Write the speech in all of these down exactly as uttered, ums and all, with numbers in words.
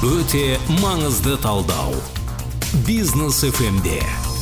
Өте маңызды талдау. Бизнес эф эмде.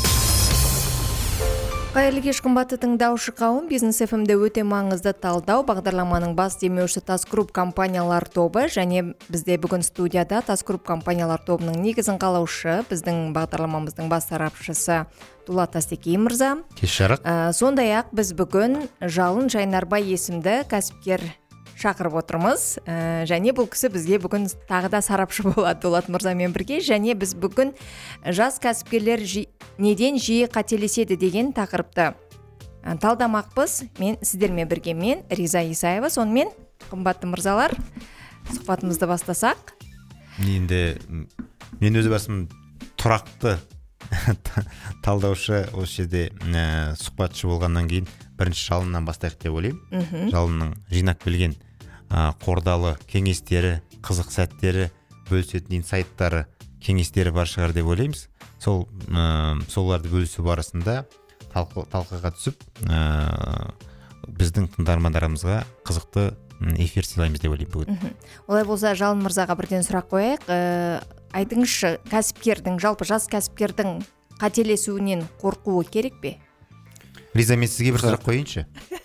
Қайырлы кеш қымбатты тыңдаушы қауым, Бизнес эф эмде өте маңызды талдау бағдарламаның бас демеушісі Тас Груп компаниялар тобы, және бізде бүгін студияда Тас Груп компаниялар тобының негізін қалаушы, біздің бағдарламамыздың бас сарапшысы Дулат Тастекей мырза. Кеш жарық. Ә, сондай-ақ біз бүгін Жалын Жайнарбай есімді кәсіпкер шақырып отырмыз, ә, және бұл кісі бізге бүгін тағы да сарапшы болады Дулат мырзамен бірге, және біз бүгін жас кәсіпкерлер жи... неден жиі қателеседі деген тақырыпты ә, талдамақпыз. Мен сіздермен бірге мен Риза Исаева. Сонымен қымбатты мырзалар, сұхбатымызды бастасақ. Енді мен өзі басым тұрақты талдаушы осы жерде ә, сұхбатшы болғаннан кейін бірінші Жалыннан бастайық деп ойлаймын. Жалынның жинап келген ә, қордалы кеңестері, қызық сәттері, бөлісетін инсайттары, кеңестері бар шығар деп ойлаймыз. Сол ә, соларды бөлісу барысында талқы, талқыға түсіп ә, біздің тыңдармандарымызға қызықты эфир сыйлаймыз деп ойлаймын бүгін. Олай болса Жалын мырзаға бірден сұрақ қояйық. Ә, айтыңызшы, кәсіпкердің, жалпы жас кәсіпкердің қателесуінен қорқуы керек пе? Риза, мен сізге бір сұрақ қойыншы.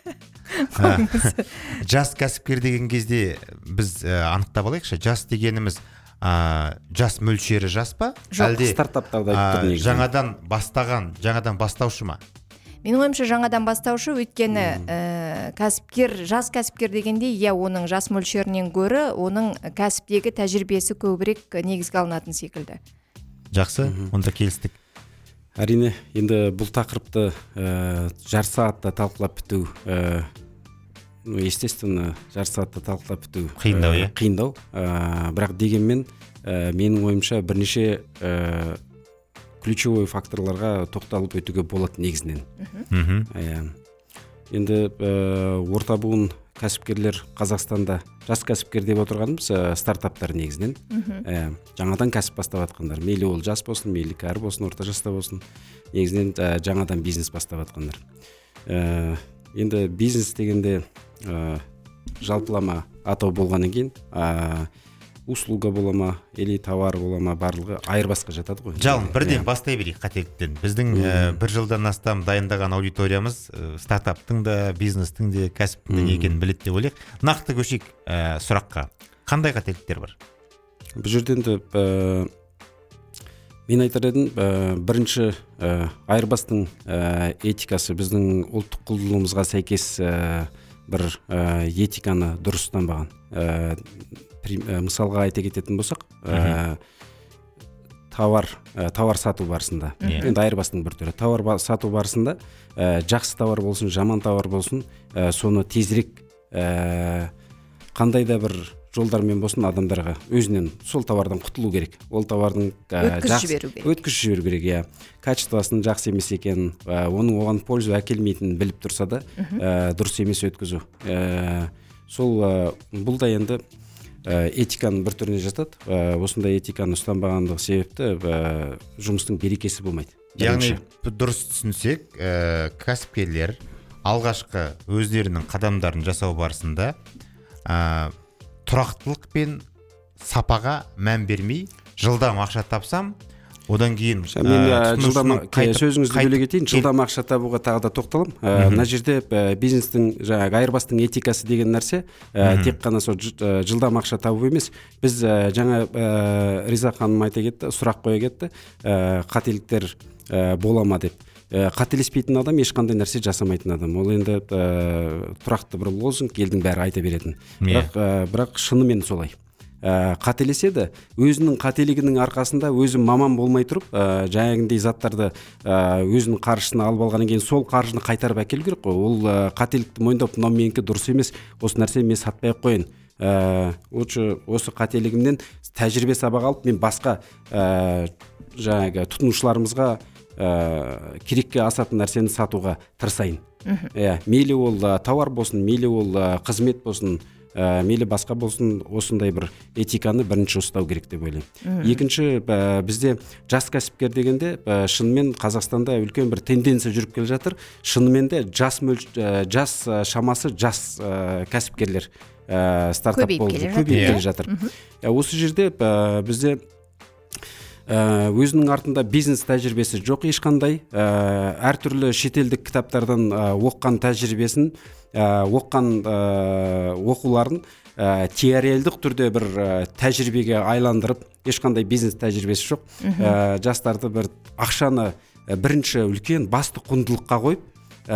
Жас кәсіпкер деген кезде біз ә, анықтап алайықшы. Жас дегеніміз ә, жас мөлшері жас па? Жоқ, әлде стартаптарда ә, жаңадан бастаған, жаңадан бастаушы ма? Мен ойымша жаңадан бастаушы, өйткені ә, кәсіпкер, жас кәсіпкер дегенде, иә, оның жас мөлшерінен гөрі, оның кәсіптегі тәжірибесі көбірек негізге алынатын секілді. Жақсы, онда келістік. Әрине, енді бұл тақырыпты ә, жар сағатта талқылап біту, ә, ну, естественно, жар сағатта талқылап біту қиындау, ә, қиындау. Ә, бірақ дегенмен, ә, менің ойымша бірнеше ә, ключевой факторларға тоқталып өтуге болады негізінен. Ә, енді ә, орта буын кәсіпкерлер Қазақстанда жас кәсіпкер деп отырғанымыз ә, стартаптар негізінен. Ә, жаңадан кәсіп бастап жатқандар. Мейлі ол жас болсын, мейлі кәрі болсын, орта жаста болсын. Негізінен ә, жаңадан бизнес бастап жатқандар. Ә, енді бизнес дегенде ә, жалпылама атау болғаннан кейін, ә, услуга бола ма, или товар бола ма, барлығы айырбасқа жатады ғой. Жалын, бірден бастай берейік қателіктен. Біздің ә, бір жылдан астам дайындаған аудиториямыз ә, стартаптың да, бизнестің де, кәсіптің де екенін біледі деп ойлайық. Нақты көшейік ә, сұраққа. Қандай қателіктер бар? Бұл жерден де ә, мен айтар едім, ә, бірінші ә, айырбастың ә, этикасы біздің ұлттық құндылығымызға сәйкес ә, бір ә, этиканы дұрыс ұстанбаған. Ә, мысалға айта кететін болсақ, ә, товар ә, товар сату барысында, енді айырбастың бір түрі, товар сату барысында ә, жақсы товар болсын, жаман товар болсын, ә, соны тезірек ә, қандай да бір жолдармен болсын адамдарға өзінен сол товардан құтылу керек. Ол товардың өткізіп жіберу керек. Өткізіп жіберу керек, иә. Качествосын жақсы емес екенін, ә, оның оған пользу әкелмейтінін біліп тұрса да, ә, дұрыс емес өткізу. Ә, сол ә, бұл да енді этиканың бір түріне жатады. Осындай этиканы ұстанбағандығы себепті жұмыстың берекесі болмайды. Яғни дұрыс түсінсек, ә, кәсіпкерлер алғашқы өздерінің қадамдарын жасау барысында ә, тұрақтылық пен сапаға мән бермей, жылдам ақша тапсам, одан кейін мен жылдам сөзіңізді бөле кетейін, жылдам ақша табуға тағы да тоқталам. Мына жерде бизнестің жаңағы айырбастың этикасы деген нәрсе тек қана сол жылдам ақша табу емес. Біз жаңа Риза ханым айта кетті, сұрақ қоя кетті, қателіктер бола ма деп. Қателеспейтін адам ешқандай нәрсе жасамайтын адам. Ол енді тұрақты бір лозунг, елдің бәрі айта беретін. Бірақ, бірақ шынымен солай. Ә, қателеседі, өзінің қателігінің арқасында өзі маман болмай тұрып, ә, жаңағындай заттарды ә, өзінің қаржысына алып алғаннан кейін сол қаржыны қайтарып әкелу керек қой. Ол ә, қателікті мойындап, мынау менікі дұрыс емес, осы нәрсені мен сатпай ақ қояйын. Ә, осы қателігімнен тәжірибе сабақ алып, мен басқа ә, жаңағы тұтынушыларымызға ә, керекке асатын нәрсені сатуға тырысайын. Ә, мейлі ол ә, товар болсын, мейлі ол ә, қызмет болсын, Ә, мейлі басқа болсын, осындай бір этиканы бірінші ұстау керек деп ойлаймын. Екінші, ә, бізде жас кәсіпкер дегенде ә, шынымен Қазақстанда үлкен бір тенденция жүріп келе жатыр. Шынымен де жас, мөл, ә, жас ә, шамасы жас ә, кәсіпкерлер стартап болып көбейіп келе жатыр. Осы жерде бізде өзінің артында бизнес тәжірибесі жоқ ешқандай, әртүрлі шетелдік кітаптардан оққан тәжірибесін, оққан оқуларын теориялдық түрде бір тәжірибеге айландырып, ешқандай бизнес тәжірибесі жоқ. Жастарды бір ақшаны бірінші үлкен басты құндылыққа қойып,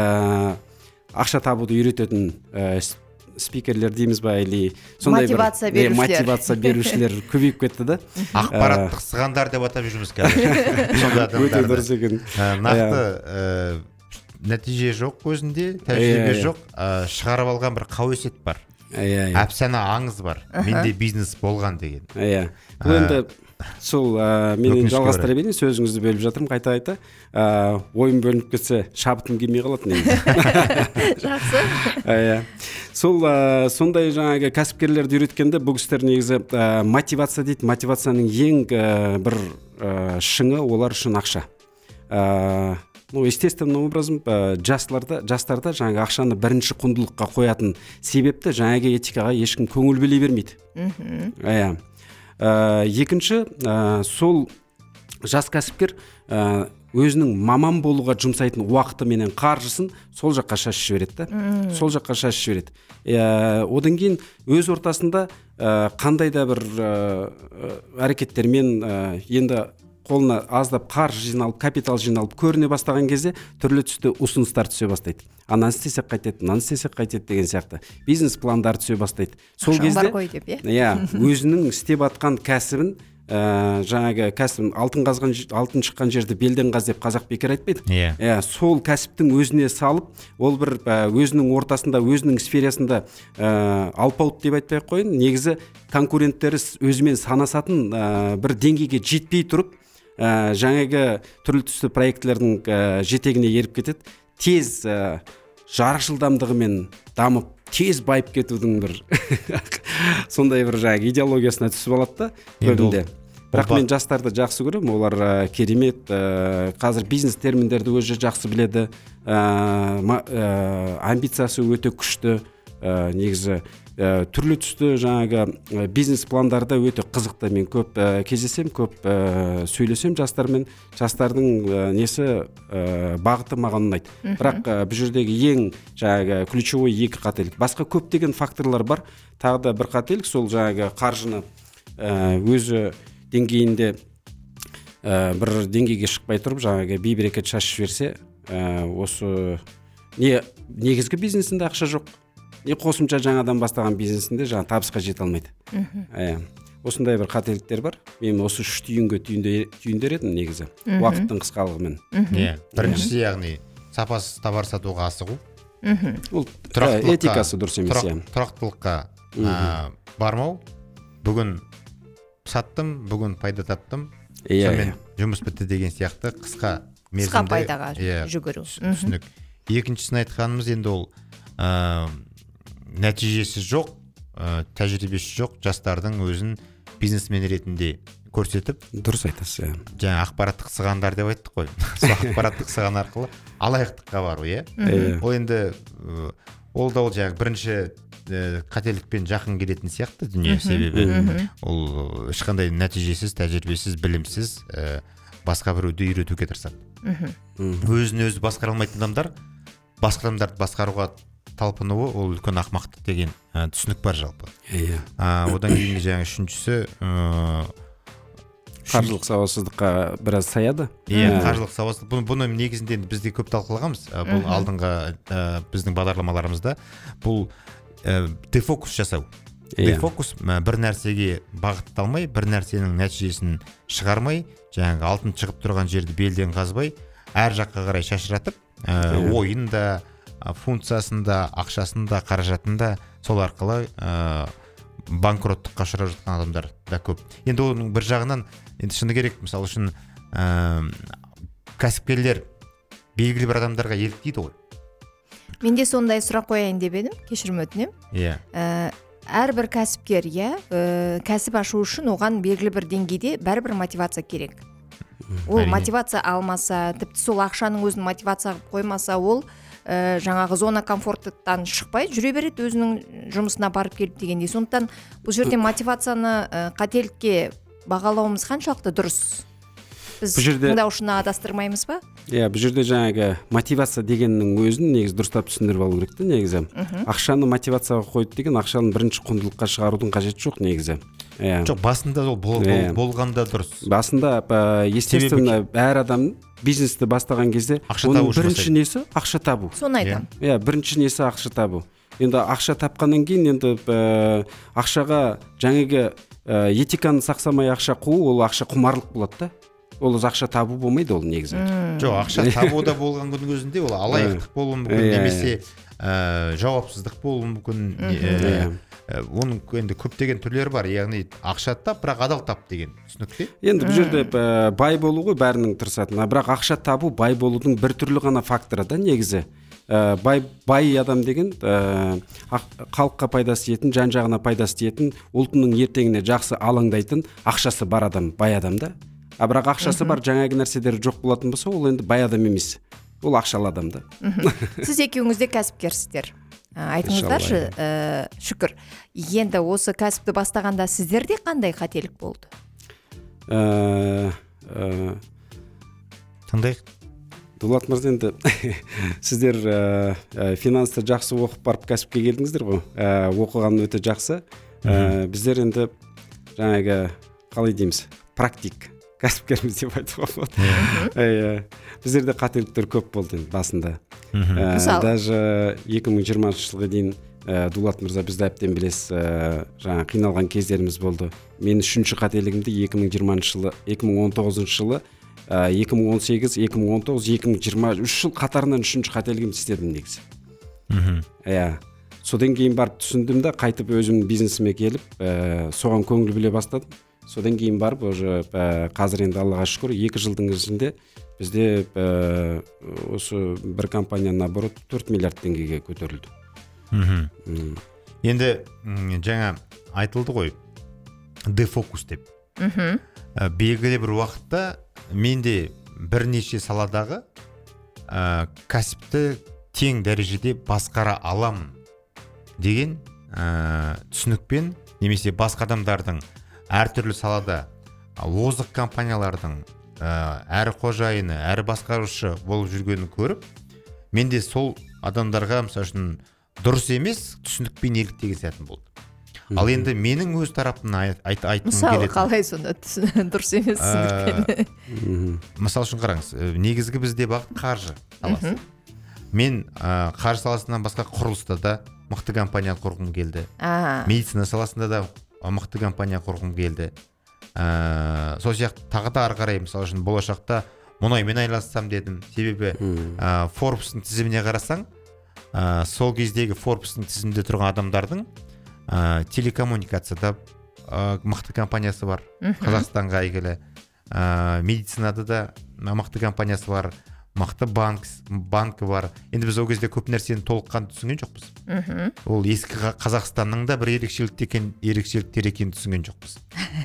ақша табуды үйрететін спикерлер дейміз ба, или сондай бір мотивация берушілер, мотивация берушілер көбейіп кетті да. Ақпараттық сығандар деп атап жүрміз қазір. Өте дұрыс екен. Нақты нәтиже жоқ өзінде, тәжірибе жоқ, шығарып алған бір қауесет бар. Әпсана аңыз бар. Менде бизнес болған деген. Иә. Бұл енді сол мен жалғастыра берейін, сөзіңізді бөліп жатырмын қайта-қайта. Ойым бөлініп кетсе, шабытым келмей қалады негізі. Жақсы. Иә. Сол сондай жаңағы кәсіпкерлерді үйреткенде бұл кісілер негізі мотивация дейді. Мотивацияның ең бір шыңы олар үшін ақша. Ну, естественным образом жастарда, жастарда жаңағы ақшаны бірінші құндылыққа қоятын себепті жаңағы этикаға ешкім көңіл бөле бермейді. Иә. Екінші, сол жас кәсіпкер өзінің маман болуға жұмсайтын уақыты менен қаржысын сол жаққа шашып жібереді. Сол жаққа шашып жібереді. Одан кейін өз ортасында қандай да бір әрекеттермен енді қолына аздап қаржы жиналып, капитал жиналып көріне бастаған кезде түрлі түсті ұсыныстар түсе бастайды. Ананы істесек қайтеді, мынаны істесек қайтеді деген сияқты бизнес пландар түсе бастайды. Сол кезде иә, өзінің істеп атқан кәсібін, жаңағы кәсібін алтын қазған, алтын шыққан жерді белден қаз деп қазақ бекер айтпайды. Иә, сол кәсіптің өзіне салып, ол бір өзінің ортасында, өзінің сферасында алпауыт деп айтпай қойын, негізі конкуренттері өзімен санасатын бір деңгейге жетпей тұрып, жаңағы түрлі түсті проектлердің жетегіне еріп кетеді. Тез жарық жылдамдығымен дамып, тез байып кетудің бір сондай бір жаңағы идеологиясына түсіп алады да көбінде. Бірақ мен жастарды жақсы көремін, олар керемет, қазір бизнес терминдерді өзі жақсы біледі, амбициясы өте күшті, негізі түрлі түсті жаңағы бизнес пландарды өте қызықты. Мен көп кездесем, көп сөйлесем жастармен, жастардың несі бағыты маған ұнайды. Бірақ бұл жердегі ең жаңағы ключевой екі қателік. Басқа көптеген факторлар бар. Тағы да бір қателік, сол жаңағы қаржыны өзі деңгейінде бір деңгейге шықпай тұрып, жаңағы бей-берекет шашып жіберсе, осы не негізгі бизнесінде ақша жоқ, не қосымша жаңадан бастаған бизнесінде жаңа табысқа жете алмайды. Осындай бір қателіктер бар. Мен осы үш түйінге түйіндер едім негізі, уақыттың қысқалығымен. Біріншісі, яғни сапасыз товар сатуға асығу. Ол этикасы дұрыс емес. Тұрақтылыққа бармау. Бүгін саттым, бүгін пайда таптым, сонымен жұмыс бітті деген сияқты қысқа мерзімде қысқа пайдаға жүгіру. Түсінік. Екіншісін айтқанымыз енді ол нәтижесі жоқ, тәжірибесі жоқ жастардың өзін бизнесмен ретінде көрсетіп, дұрыс айтасыз. Жаңа ақпараттық сығандар деп айттық қой. Сол ақпараттық сыған арқылы алаяқтыққа бару, иә. Ол енді ол да ол жаңағы бірінші қателікпен жақын келетін сияқты дүние, себебі ол ешқандай нәтижесіз, тәжірибесіз, білімсіз басқа біреуді үйретуге тырысады. Өзін өзі басқара алмайтын адамдар басқа адамдарды басқаруға талпынуы, ол үлкен ақымақтық деген түсінік бар жалпы. Одан кейінгі жаңа үшіншісі қаржылық сауатсыздыққа біраз саяды. Иә, қаржылық сауатсыздық. Бұны негізінде бізде көп талқылағанбыз. Бұл алдыңғы біздің бағдарламаларымызда бұл дефокус жасау. Дефокус бір нәрсеге бағытталмай, бір нәрсенің нәтижесін шығармай, жаңағы алтын шығып тұрған жерді белден қазбай, әр жаққа қарай шашыратып, ойында, функциясында, ақшасында, қаражатында сол арқылы банкроттыққа ұшырап жатқан адамдар да көп. Енді оның бір жағынан енді шыны керек, мысалы үшін кәсіпкерлер белгілі бір адамдарға еліктейді ғой. Менде сондай сұрақ қояйын деп едім, кешірім өтінем. Иә. Әрбір кәсіпкер, иә, кәсіп ашу үшін оған белгілі бір деңгейде бәрібір мотивация керек. Ол мотивация алмаса, тіпті сол ақшаның өзін мотивация қоймаса, ол ә, жаңағы зона комфорттан шықпай жүре береді, өзінің жұмысына барып келіп дегендей. Сондықтан бұл жерде мотивацияны ә, қателікке бағалауымыз қаншалықты дұрыс? Біз тыңдаушыны адастырмаймыз ба? Иә, бұл жерде жаңағы мотивация дегеннің өзін негізі дұрыстап түсіндіріп алу керек те негізі. Ақшаны мотивацияға қойды деген ақшаны бірінші құндылыққа шығарудың қажеті жоқ негізі. Жоқ, басында ол болғанда дұрыс. Басында естественно әр адам бизнесті бастаған кезде оның бірінші несі ақша табу. Соны айтамын. Иә, бірінші несі ақша табу. Енді ақша тапқаннан кейін енді ақшаға жаңағы этиканы сақсамай ақша қуу, ол ақша құмарлық болады да. Ол ақша табу болмайды ол негізі. Жоқ, ақша табу да болған күннің өзінде ол алаяқтық болуы мүмкін, немесе жауапсыздық болуы мүмкін. Оның енді көптеген түрлері бар, яғни ақша тап, бірақ адал тап деген түсінік те. Енді бұл жерде бай болу ғой бәрінің тырысатын, бірақ ақша табу бай болудың бір түрлі ғана факторы да негізі. Бай бай адам деген халыққа пайдасы тиетін, жан-жағына пайдасы тиетін, ұлтының ертеңіне жақсы алаңдайтын ақшасы бар адам бай адам да. А бірақ ақшасы бар жаңағы нәрселері жоқ болатын болса, ол енді бай адам емес. Ол ақшалы адам да. Сіз екеуіңіз де кәсіпкерсіздер. Айтыңыздаршы, Шүкір, енді осы кәсіпті бастағанда сіздерде қандай қателік болды? Тыңдайық. Дулат мырза, енді сіздер финансты жақсы оқып барып кәсіпке келдіңіздер ғой. Оқыған өте жақсы. Біздер енді жаңағы қалай дейміз, практик кәсіпкерміз деп айтуға болады. Біздерде қателіктер көп болды басында. Даже екі мың жиырмасыншы жылға дейін Дулат мырза бізді әбден білесіз, жаңа қиналған кездеріміз болды. Мен үшінші қателігімді екі мың жиырмасыншы жылы, екі мың он тоғызыншы жылы, екі мың он сегіз, екі мың он тоғыз, екі мың жиырма үш жыл қатарынан үшінші қателігімді істедім негізі. Иә. Содан кейін барып түсіндім де, қайтып өзім бизнесіме келіп, соған көңіл біле бастадым. Содан кейін барып, уже қазір енді Аллаға шүкір, екі жылдың ішінде бізде осы бір компанияның обороты төрт миллиард теңгеге көтерілді. Енді жаңа айтылды ғой, дефокус деп. Белгілі бір уақытта менде бірнеше саладағы кәсіпті тең дәрежеде басқара аламын деген түсінікпен, немесе басқа адамдардың әртүрлі салада озық компаниялардың әрі қожайыны, әрі басқарушы болып жүргенін көріп, менде сол адамдарға мысалы үшін дұрыс емес түсінікпен еліктеген сәтім болды. Ал енді менің өз тарапымнан айтқым келеді. Мысалы, қалай сонда дұрыс емес түсінікпен? Мысалы үшін қараңыз, негізгі бізде бағыт қаржы саласы. Мен қаржы саласынан басқа құрылыста да мықты компания құрғым келді. Медицина саласында да мықты компания құрғым келді. Сол сияқты тағы да ары қарай, мысалы үшін болашақта мұнаймен айналыссам дедім. Себебі Forbes-ның тізіміне қарасаң, сол кездегі Forbes-ның тізімінде тұрған адамдардың телекоммуникацияда мықты компаниясы бар, Қазақстанға әйгілі. Медицинада да мықты компаниясы бар, мықты банкі бар. Енді біз ол кезде көп нәрсені толыққан түсінген жоқпыз. Ол ескі Қазақстанның да бір ерекшеліктер екенін түсінген жоқпыз.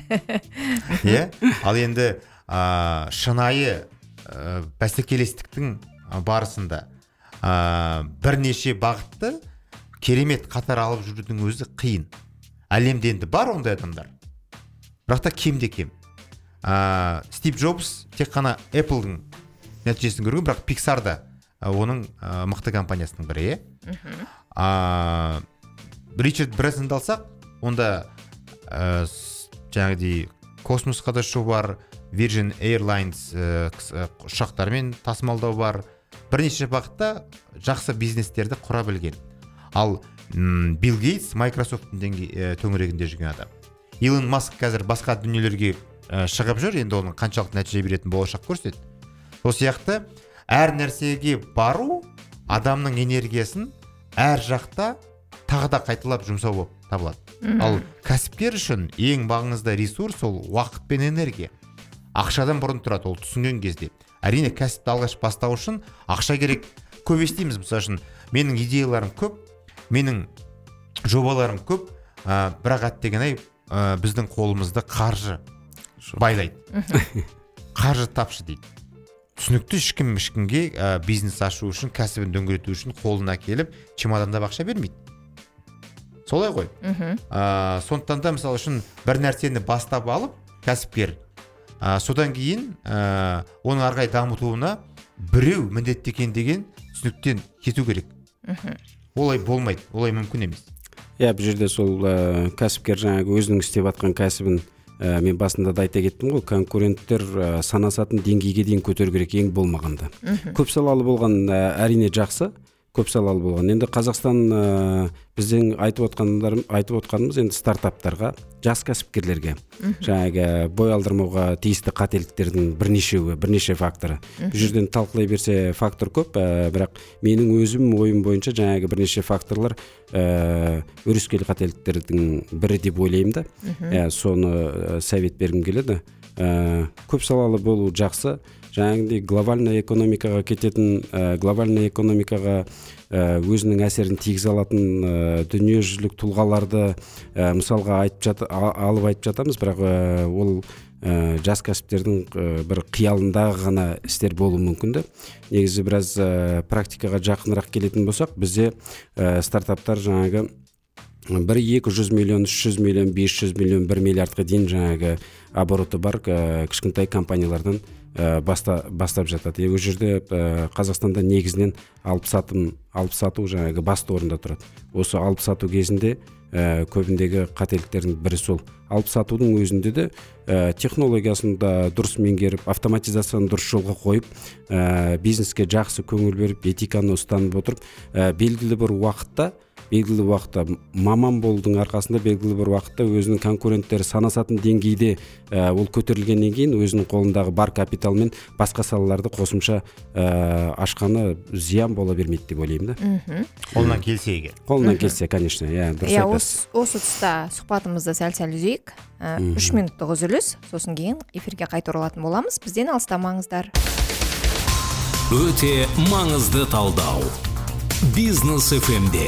Ал енді шынайы бәсекелестіктің барысында бірнеше бағытты керемет қатар алып жүрудің өзі қиын. Әлемде енді бар ондай адамдар, бірақ та кемде кем. Стив Джобс тек қана Apple'дың нәтижесін көрген, бірақ Pixar да оның мықты компаниясының бірі. Ричард Брэнсонды алсақ, онда жаңағыдай космосқа да ұшу бар, Virgin Airlines ұшақтармен тасымалдау бар. Бірнеше бағытта жақсы бизнестерді құра білген. Ал Билл Гейтс Microsoft-ның төңірегінде жүрген адам. Илон Маск қазір басқа дүниелерге шығып жүр, енді оның қаншалықты нәтиже беретін болашақ көрсетеді. Сол сияқты әр нәрсеге бару адамның энергиясын әр жақта тағы да қайталап жұмсау болып табылады. Ал кәсіпкер үшін ең маңызды ресурс ол уақыт пен энергия. Ақшадан бұрын тұрады, ол түсінген кезде. Әрине кәсіпті алғаш бастау үшін ақша керек. Көп естиміз, мысалы үшін менің идеяларым көп, менің жобаларым көп, бірақ әттеген-ай біздің қолымызды қаржы байлайды. Қаржы тапшы дейді. түсінікті ешкім ешкімге ә, бизнес ашу үшін, кәсібін дөңгелету үшін қолына келіп чемодандап ақша бермейді. Солай ғой. ә, сондықтан да мысалы үшін бір нәрсені бастап алып кәсіпкер, ә, содан кейін ә, оның ары қарай дамытуына біреу міндетті екен деген түсініктен кету керек. Олай болмайды, олай мүмкін емес. Иә, бұл жерде сол ә, кәсіпкер жаңағы өзінің істеп жатқан кәсібін ә, мен басында да айта кеттім ғой, конкуренттер ә, санасатын деңгейге дейін көтеру керек ең болмағанда. Көп салалы болған ә, әрине жақсы, көп салалы болған. Енді Қазақстан ә, біздің айтып отқандар, айтып отқанымыз енді стартаптарға, жас кәсіпкерлерге, жаңағы бой алдырмауға тиісті қателіктердің бірнешеуі, бірнеше факторы. Бұл жерден талқылай берсе фактор көп, ә, бірақ менің өзім ойым бойынша жаңағы бірнеше факторлар ә, өрескел қателіктердің бірі деп ойлаймын да. Ә, соны ә, совет бергім келеді. Ә, көп салалы болу жақсы. Жаңағыдай глобальный экономикаға кететін, ә, глобальный экономикаға ә, өзінің әсерін тигізе алатын ә, дүниежүзілік тұлғаларды ә, мысалға айтып жат, алып айтып жатамыз, бірақ ә, ол ә, жас кәсіптердің ә, бір қиялындағы ғана істер болуы мүмкін де. Негізі біраз ә, практикаға жақынырақ келетін болсақ, бізде ә, стартаптар жаңағы бір екі жүз миллион, үш жүз миллион, бес жүз миллион, бір миллиардқа дейін жаңағы обороты бар ә, кішкентай компаниялардан ә, баста, бастап жатады. Ол жерде ә, Қазақстанда негізінен алып сатым, алып сату жаңағы басты орында тұрады. Осы алып сату кезінде ә, көбіндегі қателіктердің бірі сол. Алып сатудың өзінде де ә, технологиясын да дұрыс меңгеріп, автоматизацияны дұрыс жолға қойып, ә, бизнеске жақсы көңіл беріп, этиканы ұстанып отырып, ә, белгілі бір уақытта белгілі уақытта маман болудың арқасында белгілі бір уақытта өзінің конкуренттері санасатын деңгейде ә, ол көтерілгеннен кейін өзінің қолындағы бар капиталмен басқа салаларды қосымша ә, ашқаны зиян бола бермейді деп ойлаймын да. Қолынан келсе егер. Қолынан келсе, конечно, иә, дұрыс айтасыз. Осы тұста сұхбатымызды сәл-сәл үзейік. Үш минуттық үзіліс, сосын кейін эфирге қайта оралатын боламыз. Бізден алыстамаңыздар. Өте маңызды талдау. Бизнес эф эм-де.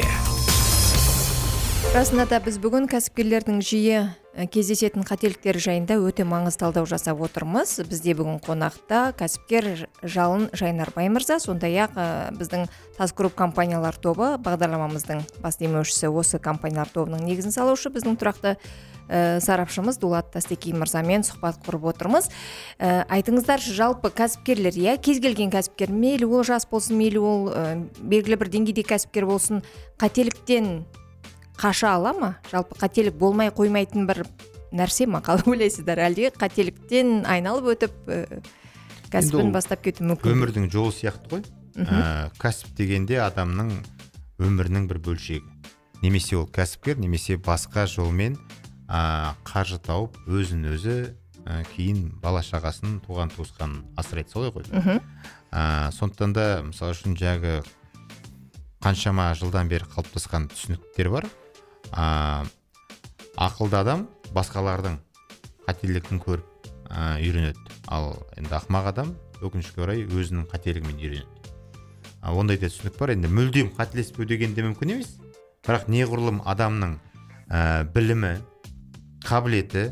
Расында да біз бүгін кәсіпкерлердің жиі кездесетін қателіктері жайында өте маңызды талдау жасап отырмыз. Бізде бүгін қонақта кәсіпкер Жалын Жайнарбай мырза, сондай-ақ біздің Тас Групп компаниялар тобы бағдарламамыздың бас демеушісі, осы компаниялар тобының негізін салушы біздің тұрақты ә, сарапшымыз Дулат Тастекей мырзамен сұхбат құрып отырмыз. Ә, айтыңыздаршы, жалпы кәсіпкерлер, иә, кез келген кәсіпкер, мейлі ол жас болсын, мейлі ол ә, белгілі бір деңгейде кәсіпкер болсын, қателіктен қаша ала ма? Жалпы қателік болмай қоймайтын бір нәрсе ма? Қалай ойлайсыздар? Әлде қателіктен айналып өтіп ә, кәсібін бастап кету мүмкін? Өмірдің жолы сияқты ғой. Ә, кәсіп дегенде адамның өмірінің бір бөлшегі. Немесе ол кәсіпкер, немесе басқа жолмен ә, қаржы тауып, өзін өзі ә, кейін бала шағасын, туған туысқанын асырайды, солай ғой. Ә, сондықтан да мысалы үшін жағы қаншама жылдан бері қалыптасқан түсініктер бар. А, ақылды адам басқалардың қателігін көріп а, үйренеді. Ал енді ақымақ адам өкінішке орай өзінің қателігімен үйренеді. А, ондай да түсінік бар. Енді мүлдем қателеспеу деген де мүмкін емес. Бірақ неғұрлым адамның ә, білімі, қабілеті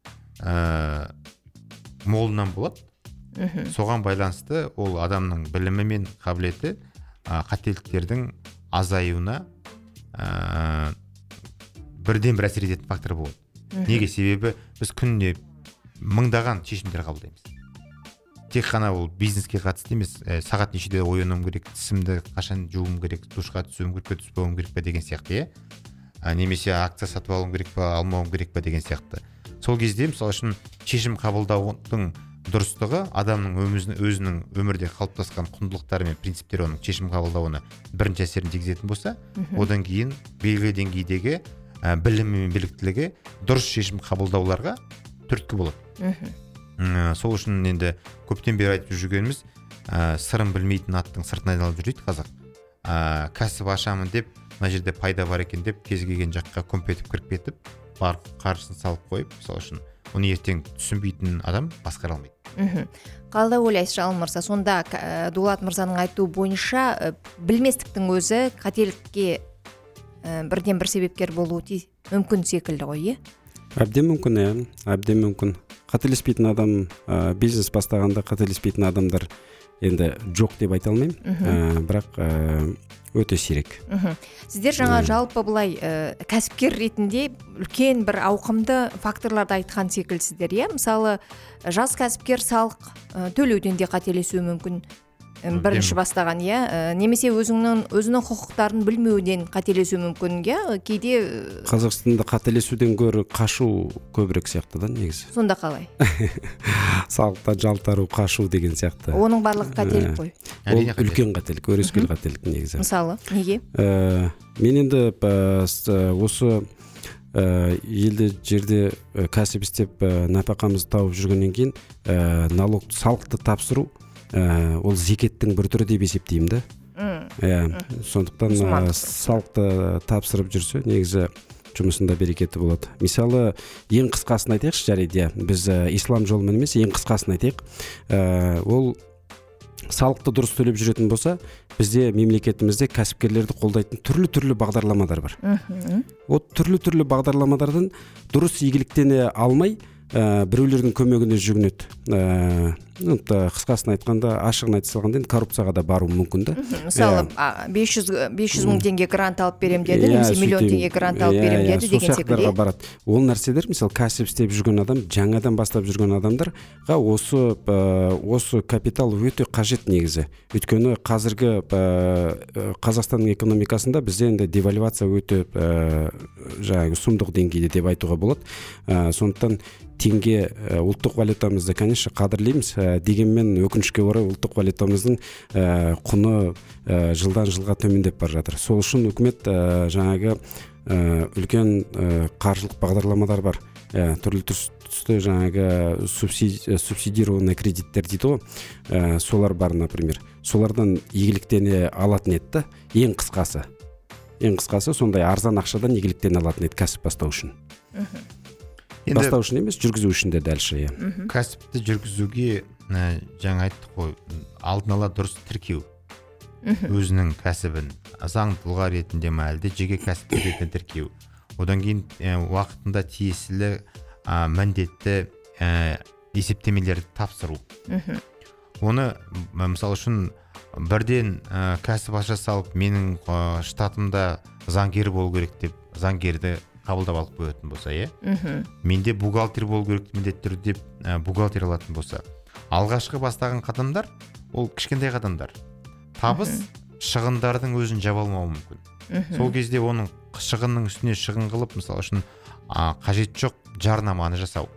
ә, молынан болады. Соған байланысты ол адамның білімі мен қабілеті ә, қателіктердің азаюына ә, бірден бір әсер ететін фактор болады. Неге? Себебі біз күніне мыңдаған шешімдер қабылдаймыз. Тек қана ол бизнеске қатысты емес, ә, сағат нешеде оянуым керек, тісімді қашан жуым керек, душқа түсуім керек пе, түспеуім керек пе деген сияқты, ә, немесе акция сатып алуым керек пе, алмауым керек пе деген сияқты. Сол кезде мысалы үшін шешім қабылдаудың дұрыстығы адамның өмізінің, өзінің өмірде қалыптасқан құндылықтары мен принциптері оның шешім қабылдауына бірінші әсерін тигізетін болса, одан кейін белгілі деңгейдегі ә, білімі мен біліктілігі дұрыс шешім қабылдауларға түрткі болады. Ә, сол үшін енді көптен бері айтып жүргеніміз, ә, сырын білмейтін аттың сыртын айналып жүр дейді қазақ. Ә, кәсіп ашамын деп, мына жерде пайда бар екен деп, кез келген жаққа көмп етіп кіріп кетіп, бар қаржысын салып қойып, мысалы үшін оны ертең түсінбейтін адам басқара алмайды. Қалда ойлайсыз, Жалын мырза, сонда Дулат мырзаның айтуы бойынша білместіктің өзі қателікке бірден бір себепкер болуы мүмкін секілді ғой, е? Әбден мүмкін, иә, әбден мүмкін. Қателеспейтін адам, ә, бизнес бастағанда қателеспейтін адамдар енді жоқ деп айта алмаймын, ә, бірақ ә, өте сирек. Сіздер жаңа жалпы былай ә, кәсіпкер ретінде үлкен бір ауқымды факторларды айтқан секілдісіздер, иә? Мысалы, жас кәсіпкер салық ә, төлеуден де қателесуі мүмкін. Бірінші бастаған, иә, немесе өзіңнің өзінің құқықтарын білмеуден қателесуі мүмкін, иә, кейде Қазақстанда қателесуден гөрі қашу көбірек сияқты да, негізі. Сонда қалай? Салықтан жалтару, қашу деген сияқты. Оның барлығы қателік қой. Ол үлкен қателік, өрескел қателік негізі. Мысалы, неге? Мен енді осы елді жерде кәсіп істеп нәпақамызды тауып жүргеннен кейін налог салықты тапсыру ол зекеттің бір түрі деп есептеймін да. Иә, сондықтан салықты тапсырып жүрсе, негізі жұмысында берекеті болады. Мысалы, ең қысқасын айтайықшы, жарайды, біз ислам жолымен емес, ең қысқасын айтайық. Ол салықты дұрыс төлеп жүретін болса, бізде мемлекетімізде кәсіпкерлерді қолдайтын түрлі-түрлі бағдарламалар бар. Ол түрлі-түрлі бағдарламалардан дұрыс игіліктене алмай, біреулердің көмегіне жүгінеді. Қысқасын айтқанда, ашығын айта салғанда, коррупцияға да бару мүмкін да. Мысалы, бес жүз мың теңге грант алып берем деді, немесе миллион теңге грант алып берем деді деген секілді. Барады. Ол нәрселер, мысалы, кәсіп істеп жүрген адам, жаңадан бастап жүрген адамдарға осы осы капитал өте қажет негізі. Өйткені қазіргі Қазақстанның экономикасында бізде енді девальвация өте жаңағы сұмдық деңгейде деп айтуға болады. Сондықтан теңге ұлттық валютамызды, конечно, қадірлейміз, дегенмен өкінішке орай ұлттық валютамыздың құны жылдан жылға төмендеп бара жатыр. Сол үшін үкімет жаңағы үлкен қаржылық бағдарламалар бар. Түрлі түсті жаңағы субсидированный кредиттер дейді ғой, солар бар, например. Солардан игіліктене алатын еді, ең қысқасы. Ең қысқасы сондай арзан ақшадан игіліктене алатын еді кәсіп бастау үшін. Бастау үшін емес, жүргізу үшін де дәлше. Кәсіпті жүргізуге жаңа айттық қой, алдын ала дұрыс тіркеу. Өзінің кәсібін заң тұлға ретінде ме, әлде жеке кәсіп ретінде тіркеу. Одан кейін уақытында тиесілі міндетті есептемелерді тапсыру. Оны мысалы үшін бірден кәсіп аша салып, менің штатымда заңгер болу керек деп заңгерді қабылдап алып қоятын болса, е? Менде бухгалтер болу керек міндетті түрде деп бухгалтер алатын болса, алғашқы бастаған қадамдар ол кішкентай қадамдар. Табыс шығындардың өзін жаба алмауы мүмкін. Сол кезде оның шығынның үстіне шығын қылып, мысалы үшін қажет жоқ жарнаманы жасау.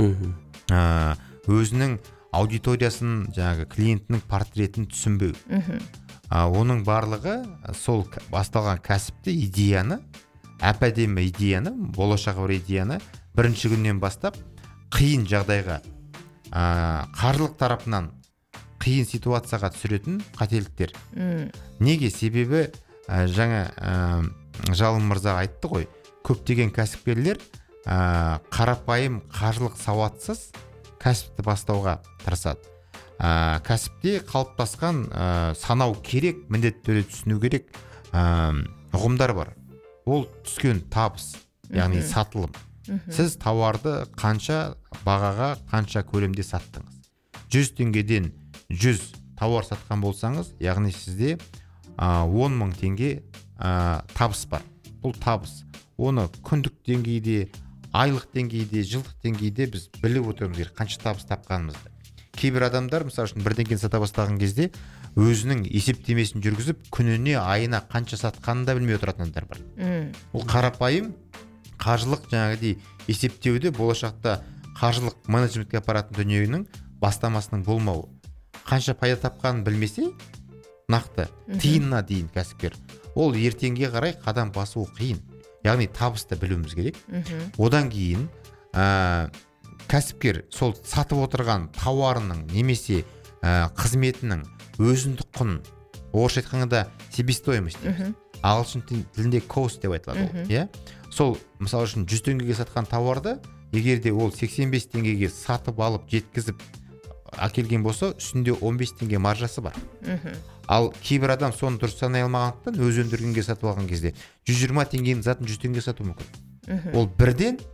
Өзінің аудиториясын, жаңағы клиентінің портретін түсінбеу. Оның барлығы сол басталған кәсіпті, идеяны, әп-әдемі идеяны, болашағы бар идеяны бірінші күннен бастап қиын жағдайға, қаржылық тарапынан қиын ситуацияға түсіретін қателіктер. Неге? Себебі жаңа Жалын мырза айтты ғой, көптеген кәсіпкерлер қарапайым қаржылық сауатсыз кәсіпті бастауға тырысады. Кәсіпте қалыптасқан санау керек, міндетті түрде түсіну керек ұғымдар бар. Ол түскен табыс, яғни сатылым. Сіз тауарды қанша бағаға, қанша көлемде саттыңыз. жүз теңгеден жүз тауар сатқан болсаңыз, яғни сізде он мың теңге табыс бар. Бұл табыс. Оны күндік деңгейде, айлық деңгейде, жылдық деңгейде біз біліп отырмыз керек, қанша табыс тапқанымызды. Кейбір адамдар, мысалы үшін, бірдеңені сата бастаған кезде өзінің есептемесін жүргізіп, күніне, айына қанша сатқанын да білмей отыратын адамдар бар. Ол қарапайым қаржылық жаңағыдай есептеуде болашақта қаржылық менеджментке апаратын дүниенің бастамасының болмауы. Қанша пайда тапқанын білмесе, нақты тиынына дейін кәсіпкер, ол ертеңге қарай қадам басуы қиын. Яғни табысты білуіміз керек. Одан кейін кәсіпкер сол сатып отырған тауарының немесе қызметінің өзіндік құнын, орысша айтқанда себестоимость дейміз. Ағылшын тілінде cost деп айтылады. Сол мысалы үшін жүз теңгеге сатқан тауарды, егер де ол сексен бес теңгеге сатып алып жеткізіп әкелген болса, үстінде он бес теңге маржасы бар. Ал кейбір адам соны дұрыс санай алмағандықтан өз өндіргенге сатып алған кезде жүз жиырма теңгенің затын жүз теңге сату мүмкін. Ол бірден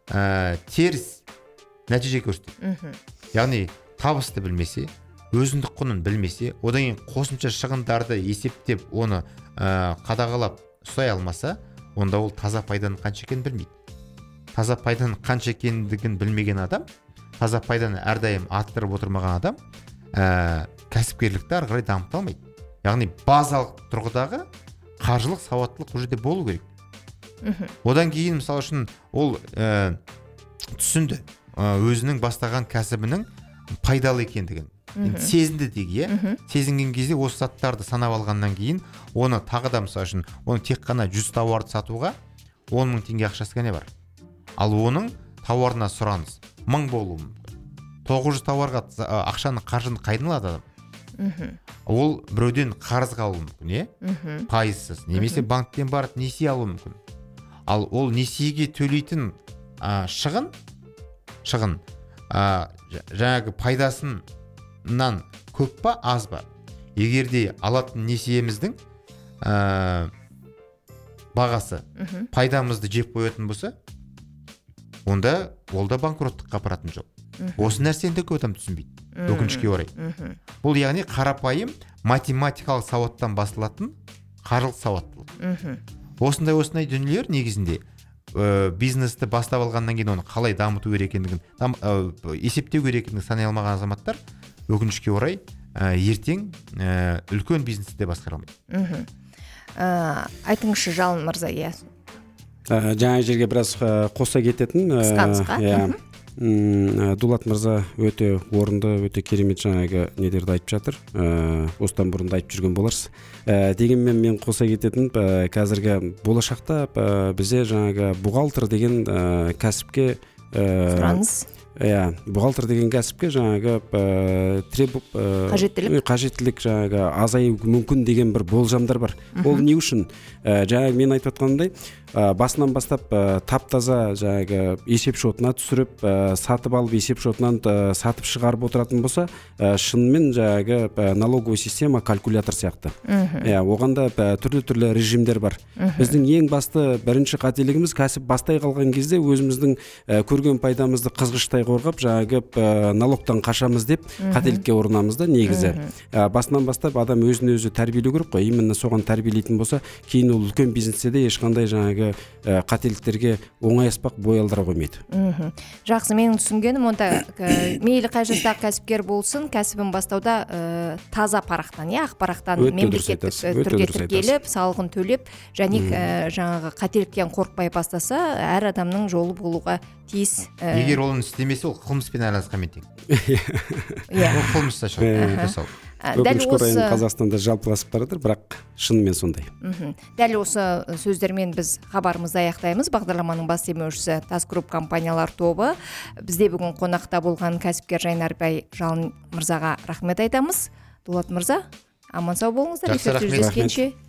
ә, теріс нәтиже көрсетеді. Яғни табысты білмесе, өзіндік құнын білмесе, одан кейін қосымша шығындарды есептеп, оны ә, қадағалап ұстай алмаса, онда ол таза пайданың қанша екенін білмейді. Таза пайданың қанша екендігін білмеген адам, таза пайданы әрдайым арттырып отырмаған адам ә, кәсіпкерлікті ары қарай дамыта алмайды. Яғни базалық тұрғыдағы қаржылық сауаттылық бұл жерде болу керек. Одан кейін мысалы үшін ол ә, түсінді ә, өзінің бастаған кәсібінің пайдалы екендігін. Сезінді деге, сезінген кезде осы заттарды санап алғаннан кейін оны тағы да мысалы үшін оны тек қана жүз тауарды сатуға он мың теңге ақшасы ғана бар. Ал оның тауарына сұраныс мың болуы мүмкін. тоғыз жүз тауарға ақшаны қаржыны қайдан алады адам? Ол біреуден қарызға алуы мүмкін, е? Пайызсыз, немесе банктен барып несие алуы мүмкін. Ал ол несиеге төлейтін ә, шығын, шығын ә, жаңағы пайдасынан көп па, аз ба? Егерде алатын несиеміздің ә, бағасы пайдамызды жеп қоятын болса, онда ол да банкроттыққа апаратын жоқ. Осы нәрсені де көп адам түсінбейді, өкінішке орай. Бұл яғни қарапайым математикалық сауаттан басылатын қаржылық сауаттылық. Осындай осындай дүниелер негізінде ә, бизнесті бастап алғаннан кейін оны қалай дамыту керек екендігін, ә, есептеу керек екендігін санай алмаған азаматтар өкінішке орай ә, ертең ә, үлкен бизнесті де басқара алмайды. Ә, айтыңызшы Жалын мырза, иә. Ә, жаңа жерге біраз ә, қоса кететін. Қысқа-қысқа. Ә, Дулат мырза өте орынды, өте керемет жаңағы недерді айтып жатыр. Ә, осыдан бұрын да айтып жүрген боларсыз. Ә, дегенмен мен қоса кететін, ә, қазіргі болашақта ә, бізде жаңағы бухгалтер деген ә, кәсіпке ә, сұраныс. Иә, бухгалтер деген кәсіпке жаңағы ә, требу ә, қажеттілік қажеттілік жаңағы азаю мүмкін деген бір болжамдар бар. Ол не үшін? Ә, жаңағы мен айтып отқанымдай, ә, басынан бастап ә, тап-таза жаңағы есеп шотына түсіріп, ә, сатып алып есеп шотынан ә, сатып шығарып отыратын болса, ә, шынымен жаңағы ә, налоговый система, калькулятор сияқты. Иә, оғанда ә, түрлі-түрлі режимдер бар. Біздің ең басты бірінші қателігіміз кәсіп бастай қалған кезде өзіміздің ә, көрген пайдамызды қызғыштай қорғап, жаңағы ә, налогтан қашамыз деп қателікке ұрынамыз да негізі. Ә, басынан бастап адам өзін өзі тәрбиелеу керек қой. Именно соған тәрбиелейтін болса, кейін ол үлкен бизнесте де ешқандай жаңағы ә, қателіктерге оңай аспақ бой алдыра қоймайды. Жақсы, менің түсінгенім онда ә, мейлі қай жастағы кәсіпкер болсын, кәсібін бастауда ә, таза парақтан, иә, ақпарақтан мемлекеттік түрге тіркеліп, салығын төлеп, және ә, жаңағы қателіктен қорықпай бастаса, әр адамның жолы болуға тиіс. Ә... Егер оны істемесе, ол қылмыспен айналысқанмен тең. Иә. Ол қылмыста жасау. Дәл осы Қазақстанда жалпыласып баратыр, бірақ шынымен сондай. Дәл осы сөздермен біз хабарымызды аяқтаймыз. Бағдарламаның бас демеушісі Тас Групп компаниялар тобы. Бізде бүгін қонақта болған кәсіпкер Жайнарбай Жалын мырзаға рахмет айтамыз. Дулат мырза, аман сау болыңыздар. Жақсы, рахмет.